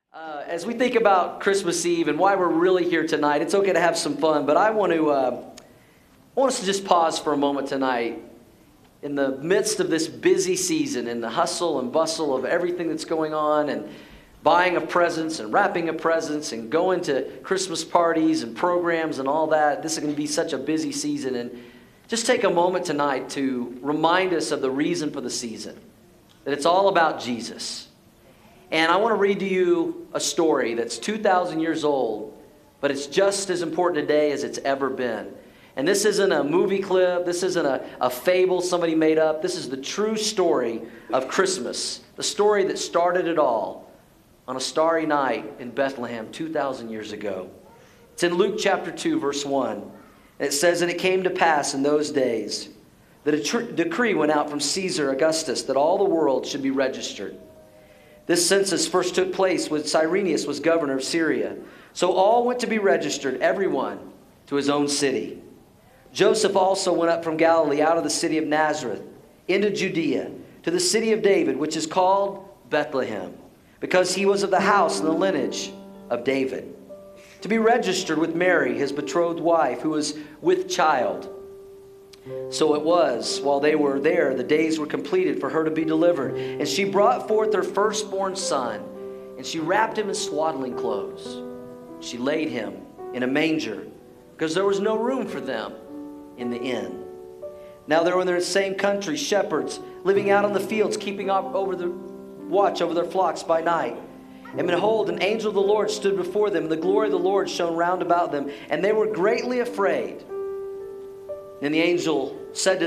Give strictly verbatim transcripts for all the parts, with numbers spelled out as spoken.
Uh, as we think about Christmas Eve and why we're really here tonight, it's okay to have some fun, but I want to uh, I want us to just pause for a moment tonight in the midst of this busy season and the hustle and bustle of everything that's going on and buying of presents and wrapping of presents and going to Christmas parties and programs and all that. This is going to be such a busy season, and just take a moment tonight to remind us of the reason for the season, that it's all about Jesus. And I want to read to you a story that's two thousand years old, but it's just as important today as it's ever been. And this isn't a movie clip. This isn't a, a fable somebody made up. This is the true story of Christmas, the story that started it all on a starry night in Bethlehem two thousand years ago. It's in Luke chapter two, verse one. And it says, "And it came to pass in those days that a tr- decree went out from Caesar Augustus that all the world should be registered. This census first took place when Cyrenius was governor of Syria. So all went to be registered, everyone to his own city. Joseph also went up from Galilee out of the city of Nazareth into Judea to the city of David, which is called Bethlehem, because he was of the house and the lineage of David, to be registered with Mary, his betrothed wife, who was with child. So it was, while they were there, the days were completed for her to be delivered. And she brought forth her firstborn son, and she wrapped him in swaddling clothes. She laid him in a manger, because there was no room for them in the inn. Now there were in the same country shepherds living out on the fields, keeping up over the watch over their flocks by night. And behold, an angel of the Lord stood before them, and the glory of the Lord shone round about them, and they were greatly afraid. And the angel said to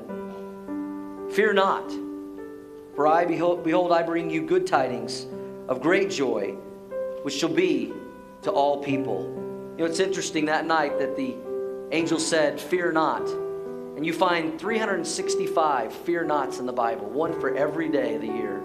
them, Fear not, for I, behold, behold, I bring you good tidings of great joy, which shall be to all people. You know, it's interesting that night that the angel said, Fear not. And you find three hundred sixty-five fear nots in the Bible, one for every day of the year.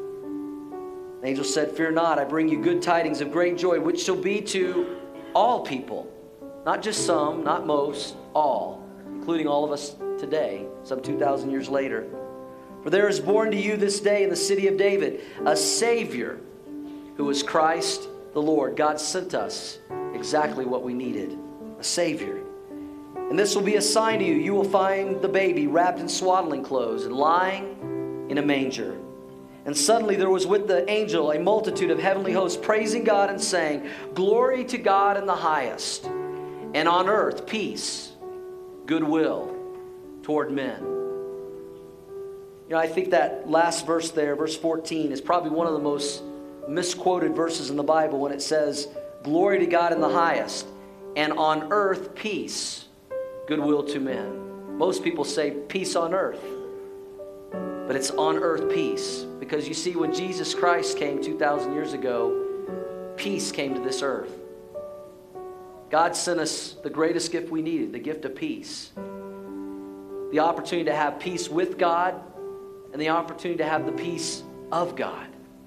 The angel said, Fear not, I bring you good tidings of great joy, which shall be to all people. Not just some, not most, all. Including all of us today, some two thousand years later. For there is born to you this day in the city of David a Savior, who is Christ the Lord. God sent us exactly what we needed, a Savior. And this will be a sign to you. You will find the baby wrapped in swaddling clothes and lying in a manger. And suddenly there was with the angel a multitude of heavenly hosts praising God and saying, Glory to God in the highest, and on earth peace, goodwill toward men. You know, I think that last verse there, verse fourteen, is probably one of the most misquoted verses in the Bible when it says, Glory to God in the highest, and on earth peace, goodwill to men. Most people say peace on earth, but it's on earth peace. Because you see, when Jesus Christ came two thousand years ago, peace came to this earth. God sent us the greatest gift we needed, the gift of peace. The opportunity to have peace with God and the opportunity to have the peace of God.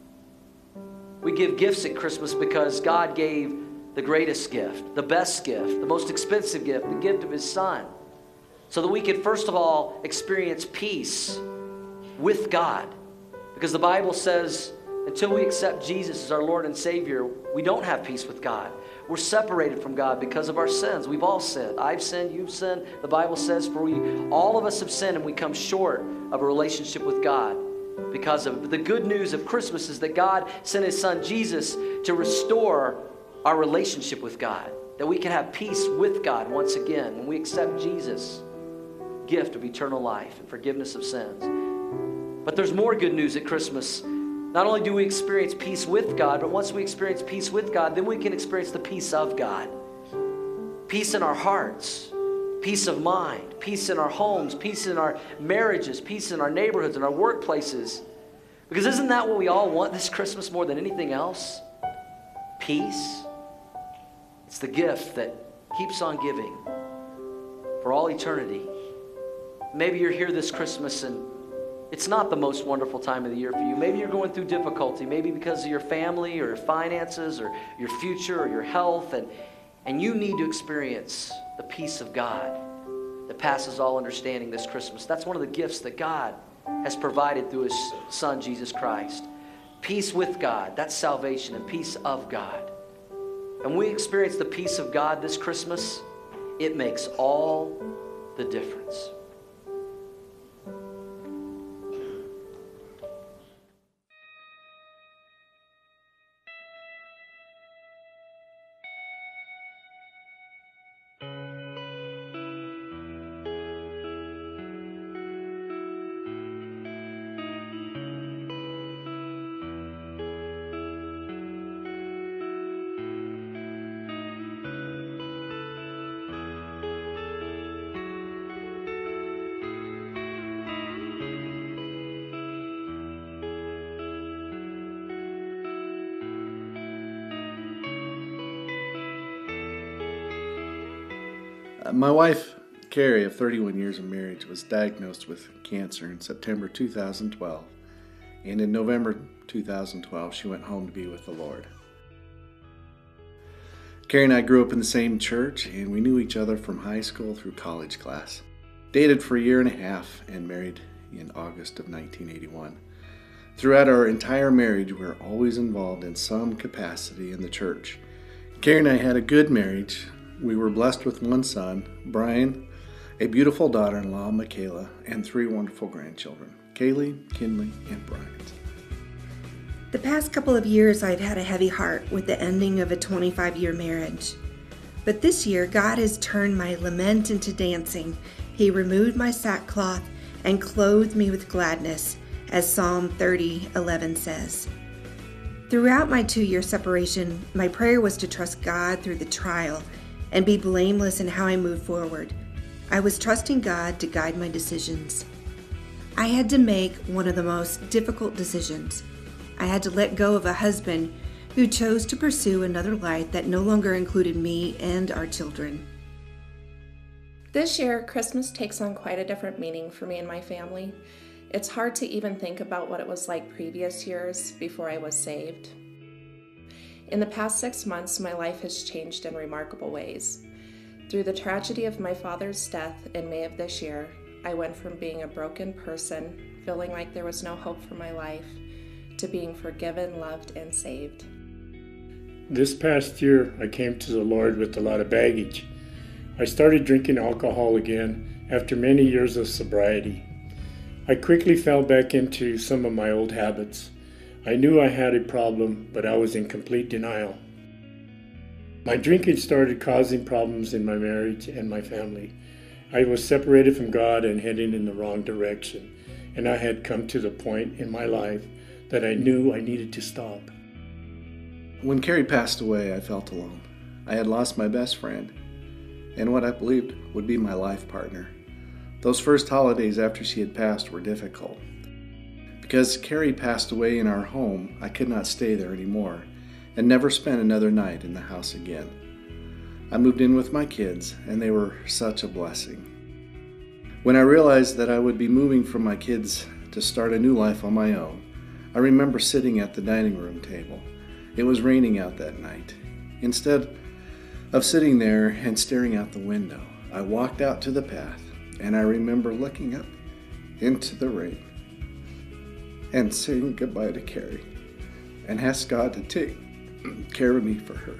We give gifts at Christmas because God gave the greatest gift, the best gift, the most expensive gift, the gift of His Son, so that we could first of all experience peace with God. Because the Bible says until we accept Jesus as our Lord and Savior, we don't have peace with God. We're separated from God because of our sins. We've all sinned. I've sinned, you've sinned. The Bible says for we, all of us have sinned, and we come short of a relationship with God because of it. But the good news of Christmas is that God sent His Son Jesus to restore our relationship with God, that we can have peace with God once again when we accept Jesus' gift of eternal life and forgiveness of sins. But there's more good news at Christmas. Not only do we experience peace with God, but once we experience peace with God, then we can experience the peace of God. Peace in our hearts, peace of mind, peace in our homes, peace in our marriages, peace in our neighborhoods and our workplaces. Because isn't that what we all want this Christmas more than anything else? Peace. It's the gift that keeps on giving for all eternity. Maybe you're here this Christmas and it's not the most wonderful time of the year for you. Maybe you're going through difficulty, maybe because of your family or your finances or your future or your health, and, and you need to experience the peace of God that passes all understanding this Christmas. That's one of the gifts that God has provided through His Son, Jesus Christ. Peace with God, that's salvation, and peace of God. And we experience the peace of God this Christmas. It makes all the difference. My wife, Carrie, of thirty-one years of marriage, was diagnosed with cancer in September two thousand twelve, and in November two thousand twelve, she went home to be with the Lord. Carrie and I grew up in the same church, and we knew each other from high school through college class. Dated for a year and a half and married in August of nineteen eighty-one. Throughout our entire marriage, we were always involved in some capacity in the church. Carrie and I had a good marriage. We were blessed with one son, Brian, a beautiful daughter-in-law, Michaela, and three wonderful grandchildren, Kaylee, Kinley, and Bryant. The past couple of years, I've had a heavy heart with the ending of a twenty-five-year marriage. But this year, God has turned my lament into dancing. He removed my sackcloth and clothed me with gladness, as Psalm thirty eleven says. Throughout my two-year separation, my prayer was to trust God through the trial and be blameless in how I moved forward. I was trusting God to guide my decisions. I had to make one of the most difficult decisions. I had to let go of a husband who chose to pursue another life that no longer included me and our children. This year, Christmas takes on quite a different meaning for me and my family. It's hard to even think about what it was like previous years before I was saved. In the past six months, my life has changed in remarkable ways. Through the tragedy of my father's death in May of this year, I went from being a broken person, feeling like there was no hope for my life, to being forgiven, loved, and saved. This past year, I came to the Lord with a lot of baggage. I started drinking alcohol again after many years of sobriety. I quickly fell back into some of my old habits. I knew I had a problem, but I was in complete denial. My drinking started causing problems in my marriage and my family. I was separated from God and heading in the wrong direction, and I had come to the point in my life that I knew I needed to stop. When Carrie passed away, I felt alone. I had lost my best friend, and what I believed would be my life partner. Those first holidays after she had passed were difficult. Because Carrie passed away in our home, I could not stay there anymore and never spent another night in the house again. I moved in with my kids, and they were such a blessing. When I realized that I would be moving from my kids to start a new life on my own, I remember sitting at the dining room table. It was raining out that night. Instead of sitting there and staring out the window, I walked out to the path, and I remember looking up into the rain and saying goodbye to Carrie and asked God to take care of me for her.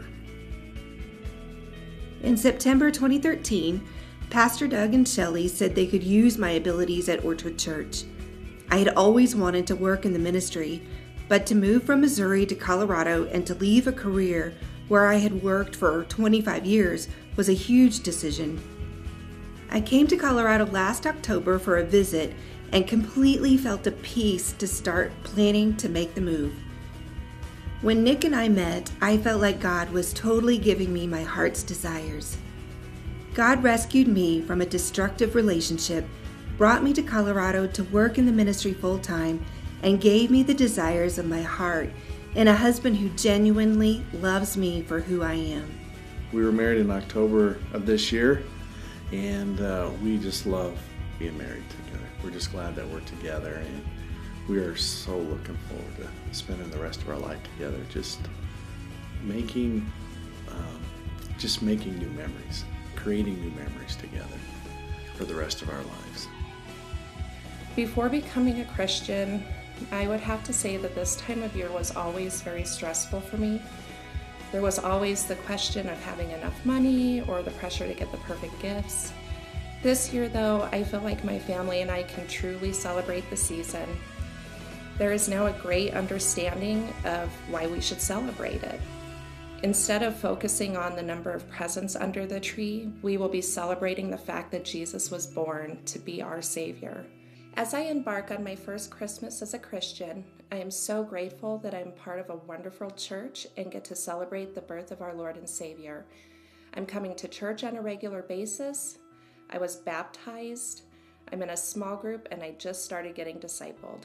In September twenty thirteen, Pastor Doug and Shelley said they could use my abilities at Orchard Church. I had always wanted to work in the ministry, but to move from Missouri to Colorado and to leave a career where I had worked for twenty-five years was a huge decision. I came to Colorado last October for a visit and completely felt at peace to start planning to make the move. When Nick and I met, I felt like God was totally giving me my heart's desires. God rescued me from a destructive relationship, brought me to Colorado to work in the ministry full-time, and gave me the desires of my heart and a husband who genuinely loves me for who I am. We were married in October of this year, and uh, we just love being married together. We're just glad that we're together, and we are so looking forward to spending the rest of our life together, just making, um, just making new memories, creating new memories together for the rest of our lives. Before becoming a Christian, I would have to say that this time of year was always very stressful for me. There was always the question of having enough money or the pressure to get the perfect gifts. This year, though, I feel like my family and I can truly celebrate the season. There is now a great understanding of why we should celebrate it. Instead of focusing on the number of presents under the tree, we will be celebrating the fact that Jesus was born to be our Savior. As I embark on my first Christmas as a Christian, I am so grateful that I'm part of a wonderful church and get to celebrate the birth of our Lord and Savior. I'm coming to church on a regular basis. I was baptized. I'm in a small group, and I just started getting discipled.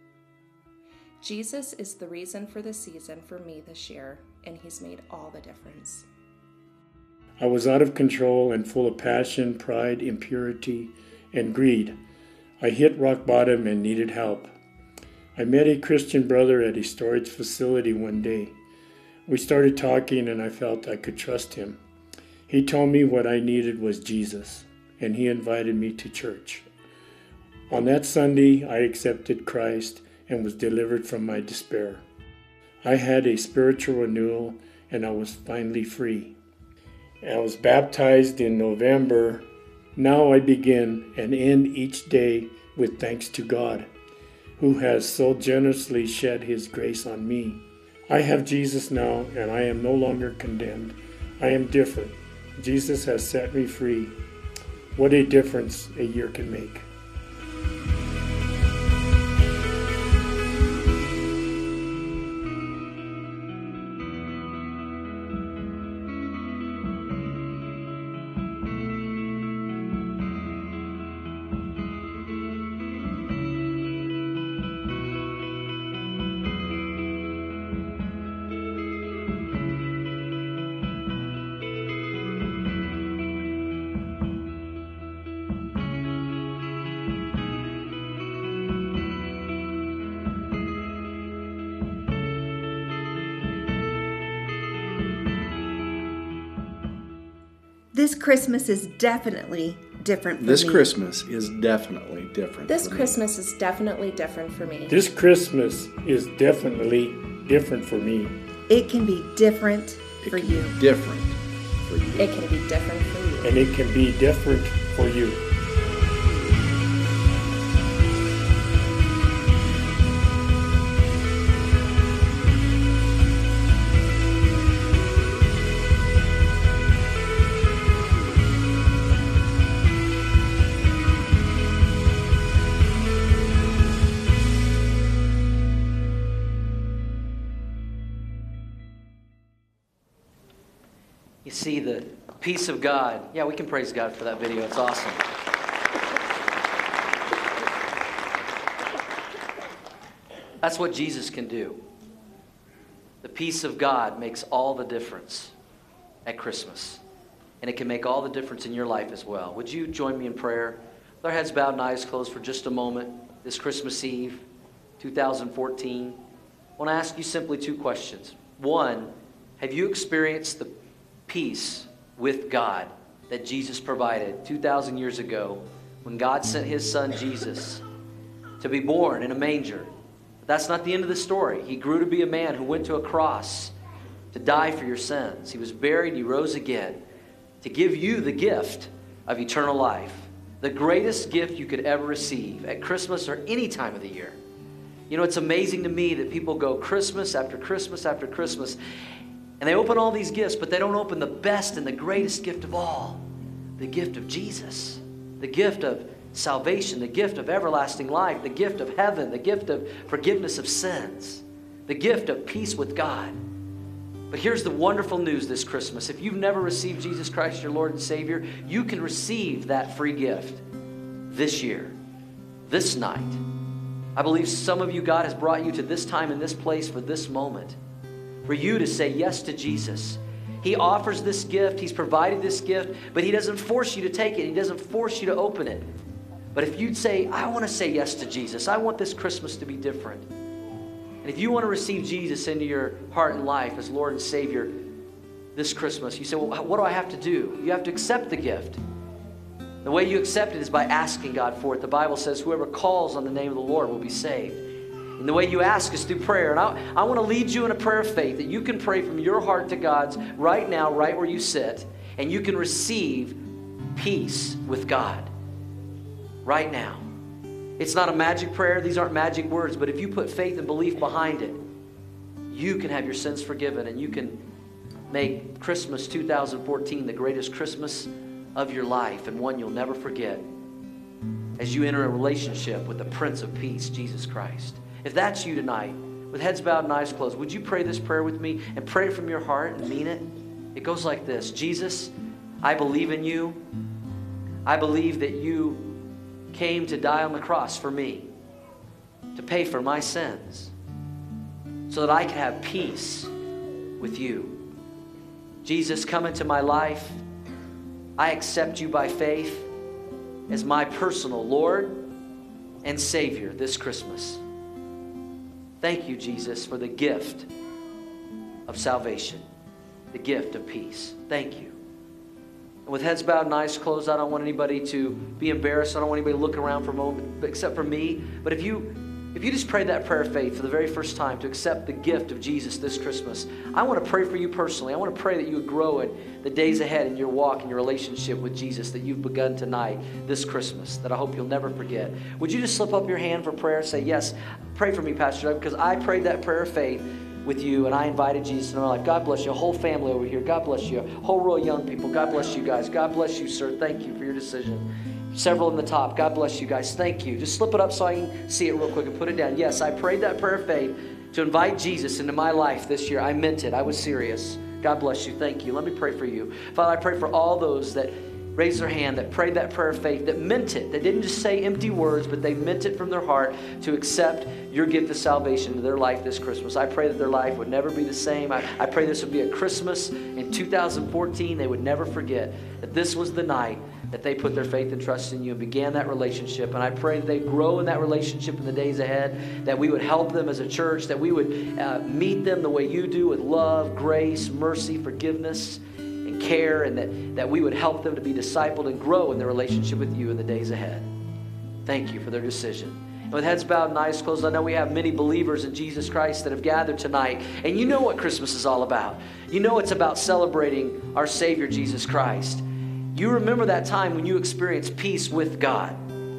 Jesus is the reason for the season for me this year, and he's made all the difference. I was out of control and full of passion, pride, impurity, and greed. I hit rock bottom and needed help. I met a Christian brother at a storage facility one day. We started talking, and I felt I could trust him. He told me what I needed was Jesus, and he invited me to church. On that Sunday, I accepted Christ and was delivered from my despair. I had a spiritual renewal, and I was finally free. I was baptized in November. Now I begin and end each day with thanks to God, who has so generously shed his grace on me. I have Jesus now, and I am no longer condemned. I am different. Jesus has set me free. What a difference a year can make. This Christmas is definitely different for This me. Christmas is definitely different This for me. Christmas is definitely different for me. This Christmas is definitely different for me. It can be different It for can you. be different for you. It can be different for you. And it can be different for you. You see the peace of God. Yeah, we can praise God for that video. It's awesome. That's what Jesus can do. The peace of God makes all the difference at Christmas. And it can make all the difference in your life as well. Would you join me in prayer? With our heads bowed and eyes closed for just a moment, this Christmas Eve, two thousand fourteen. I want to ask you simply two questions. One, have you experienced the peace with God that Jesus provided two thousand years ago when God sent his son Jesus to be born in a manger? But that's not the end of the story. He grew to be a man who went to a cross to die for your sins. He was buried, he rose again to give you the gift of eternal life, the greatest gift you could ever receive at Christmas or any time of the year. You know, it's amazing to me that people go Christmas after Christmas after Christmas, and they open all these gifts, but they don't open the best and the greatest gift of all, the gift of Jesus, the gift of salvation, the gift of everlasting life, the gift of heaven, the gift of forgiveness of sins, the gift of peace with God. But here's the wonderful news this Christmas. If you've never received Jesus Christ, your Lord and Savior, you can receive that free gift this year, this night. I believe some of you, God has brought you to this time and this place for this moment, for you to say yes to Jesus. He offers this gift. He's provided this gift, but he doesn't force you to take it. He doesn't force you to open it. But if you'd say, I want to say yes to Jesus, I want this Christmas to be different. And if you want to receive Jesus into your heart and life as Lord and Savior this Christmas, you say, well, what do I have to do? You have to accept the gift. The way you accept it is by asking God for it. The Bible says whoever calls on the name of the Lord will be saved. And the way you ask is through prayer. And I, I want to lead you in a prayer of faith that you can pray from your heart to God's right now, right where you sit. And you can receive peace with God right now. It's not a magic prayer. These aren't magic words. But if you put faith and belief behind it, you can have your sins forgiven. And you can make Christmas two thousand fourteen the greatest Christmas of your life, and one you'll never forget as you enter a relationship with the Prince of Peace, Jesus Christ. If that's you tonight, with heads bowed and eyes closed, would you pray this prayer with me and pray it from your heart and mean it? It goes like this. Jesus, I believe in you. I believe that you came to die on the cross for me, to pay for my sins, so that I could have peace with you. Jesus, come into my life. I accept you by faith as my personal Lord and Savior this Christmas. Thank you, Jesus, for the gift of salvation, the gift of peace. Thank you. And with heads bowed and eyes closed, I don't want anybody to be embarrassed. I don't want anybody to look around for a moment except for me. But if you If you just prayed that prayer of faith for the very first time to accept the gift of Jesus this Christmas, I want to pray for you personally. I want to pray that you would grow in the days ahead in your walk and your relationship with Jesus that you've begun tonight, this Christmas, that I hope you'll never forget. Would you just slip up your hand for prayer and say, yes, pray for me, Pastor Doug, because I prayed that prayer of faith with you, and I invited Jesus into my life. God bless you. A whole family over here. God bless you. A whole row of young people. God bless you guys. God bless you, sir. Thank you for your decision. Several in the top. God bless you guys. Thank you. Just slip it up so I can see it real quick and put it down. Yes, I prayed that prayer of faith to invite Jesus into my life this year. I meant it. I was serious. God bless you. Thank you. Let me pray for you. Father, I pray for all those that raised their hand, that prayed that prayer of faith, that meant it. They didn't just say empty words, but they meant it from their heart to accept your gift of salvation into their life this Christmas. I pray that their life would never be the same. I, I pray this would be a Christmas in two thousand fourteen they would never forget that this was the night that they put their faith and trust in you and began that relationship. And I pray that they grow in that relationship in the days ahead, that we would help them as a church, that we would uh, meet them the way you do with love, grace, mercy, forgiveness, and care, and that, that we would help them to be discipled and grow in their relationship with you in the days ahead. Thank you for their decision. And with heads bowed and eyes closed, I know we have many believers in Jesus Christ that have gathered tonight, and you know what Christmas is all about. You know it's about celebrating our Savior, Jesus Christ. You remember that time when you experienced peace with God.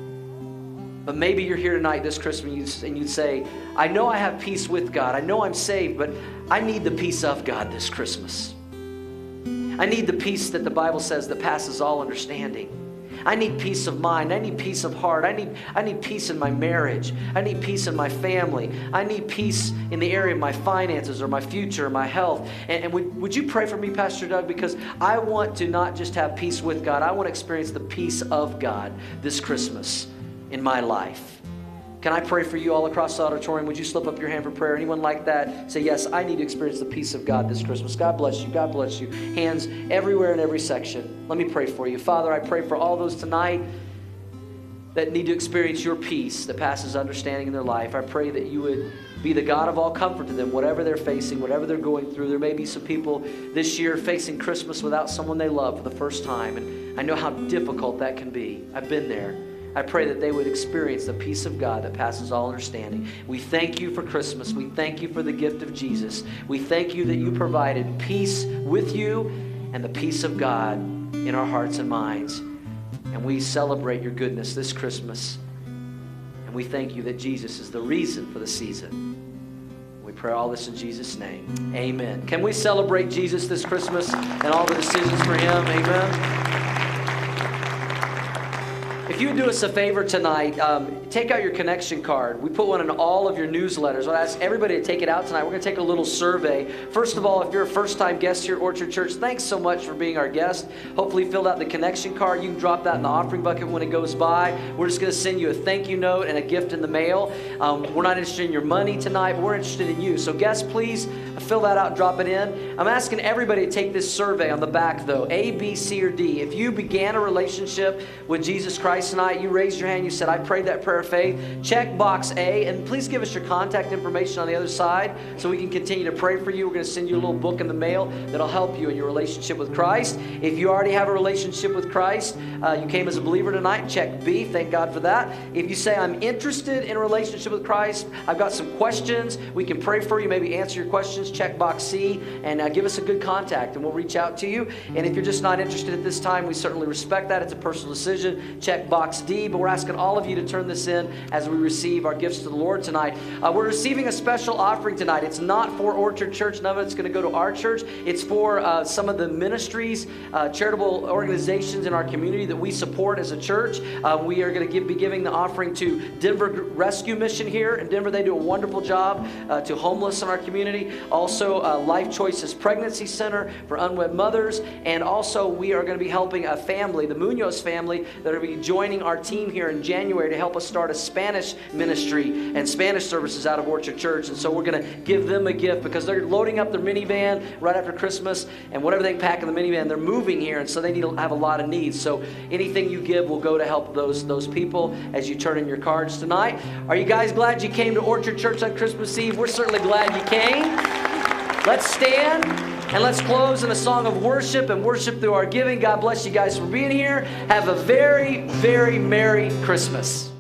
But maybe you're here tonight this Christmas and you'd say, I know I have peace with God. I know I'm saved, but I need the peace of God this Christmas. I need the peace that the Bible says that passes all understanding. I need peace of mind. I need peace of heart. I need, I need peace in my marriage. I need peace in my family. I need peace in the area of my finances or my future or my health. And, and would, would you pray for me, Pastor Doug? Because I want to not just have peace with God. I want to experience the peace of God this Christmas in my life. Can I pray for you all across the auditorium? Would you slip up your hand for prayer? Anyone like that? Say, yes, I need to experience the peace of God this Christmas. God bless you. God bless you. Hands everywhere in every section. Let me pray for you. Father, I pray for all those tonight that need to experience your peace that passes understanding in their life. I pray that you would be the God of all comfort to them, whatever they're facing, whatever they're going through. There may be some people this year facing Christmas without someone they love for the first time, and I know how difficult that can be. I've been there. I pray that they would experience the peace of God that passes all understanding. We thank you for Christmas. We thank you for the gift of Jesus. We thank you that you provided peace with you and the peace of God in our hearts and minds. And we celebrate your goodness this Christmas. And we thank you that Jesus is the reason for the season. We pray all this in Jesus' name. Amen. Can we celebrate Jesus this Christmas and all the decisions for him? Amen. If you would do us a favor tonight, um, take out your connection card. We put one in all of your newsletters. I'll ask everybody to take it out tonight. We're going to take a little survey. First of all, if you're a first-time guest here at Orchard Church, thanks so much for being our guest. Hopefully you filled out the connection card. You can drop that in the offering bucket when it goes by. We're just going to send you a thank you note and a gift in the mail. Um, we're not interested in your money tonight, but we're interested in you. So guests, please fill that out and drop it in. I'm asking everybody to take this survey on the back, though, A, B, C, or D. If you began a relationship with Jesus Christ tonight, you raised your hand, you said, I prayed that prayer of faith, check box A, and please give us your contact information on the other side so we can continue to pray for you. We're going to send you a little book in the mail that'll help you in your relationship with Christ. If you already have a relationship with Christ, uh, you came as a believer tonight, check B. Thank God for that. If you say, I'm interested in a relationship with Christ, I've got some questions, we can pray for you, maybe answer your questions, check box C, and uh, give us a good contact, and we'll reach out to you. And if you're just not interested at this time, we certainly respect that. It's a personal decision. Check box D, but we're asking all of you to turn this in as we receive our gifts to the Lord tonight. Uh, we're receiving a special offering tonight. It's not for Orchard Church. None of it's going to go to our church. It's for uh, some of the ministries, uh, charitable organizations in our community that we support as a church. Uh, we are going to give, be giving the offering to Denver Rescue Mission here in Denver. They do a wonderful job uh, to homeless in our community. Also, uh, Life Choices Pregnancy Center for unwed mothers. And also, we are going to be helping a family, the Munoz family, that are going to be joining our team here in January to help us start a Spanish ministry and Spanish services out of Orchard Church. And so we're going to give them a gift because they're loading up their minivan right after Christmas, and whatever they pack in the minivan, they're moving here, and so they need to have a lot of needs. So anything you give will go to help those, those people as you turn in your cards tonight. Are you guys glad you came to Orchard Church on Christmas Eve? We're certainly glad you came. Let's stand and let's close in a song of worship and worship through our giving. God bless you guys for being here. Have a very, very Merry Christmas.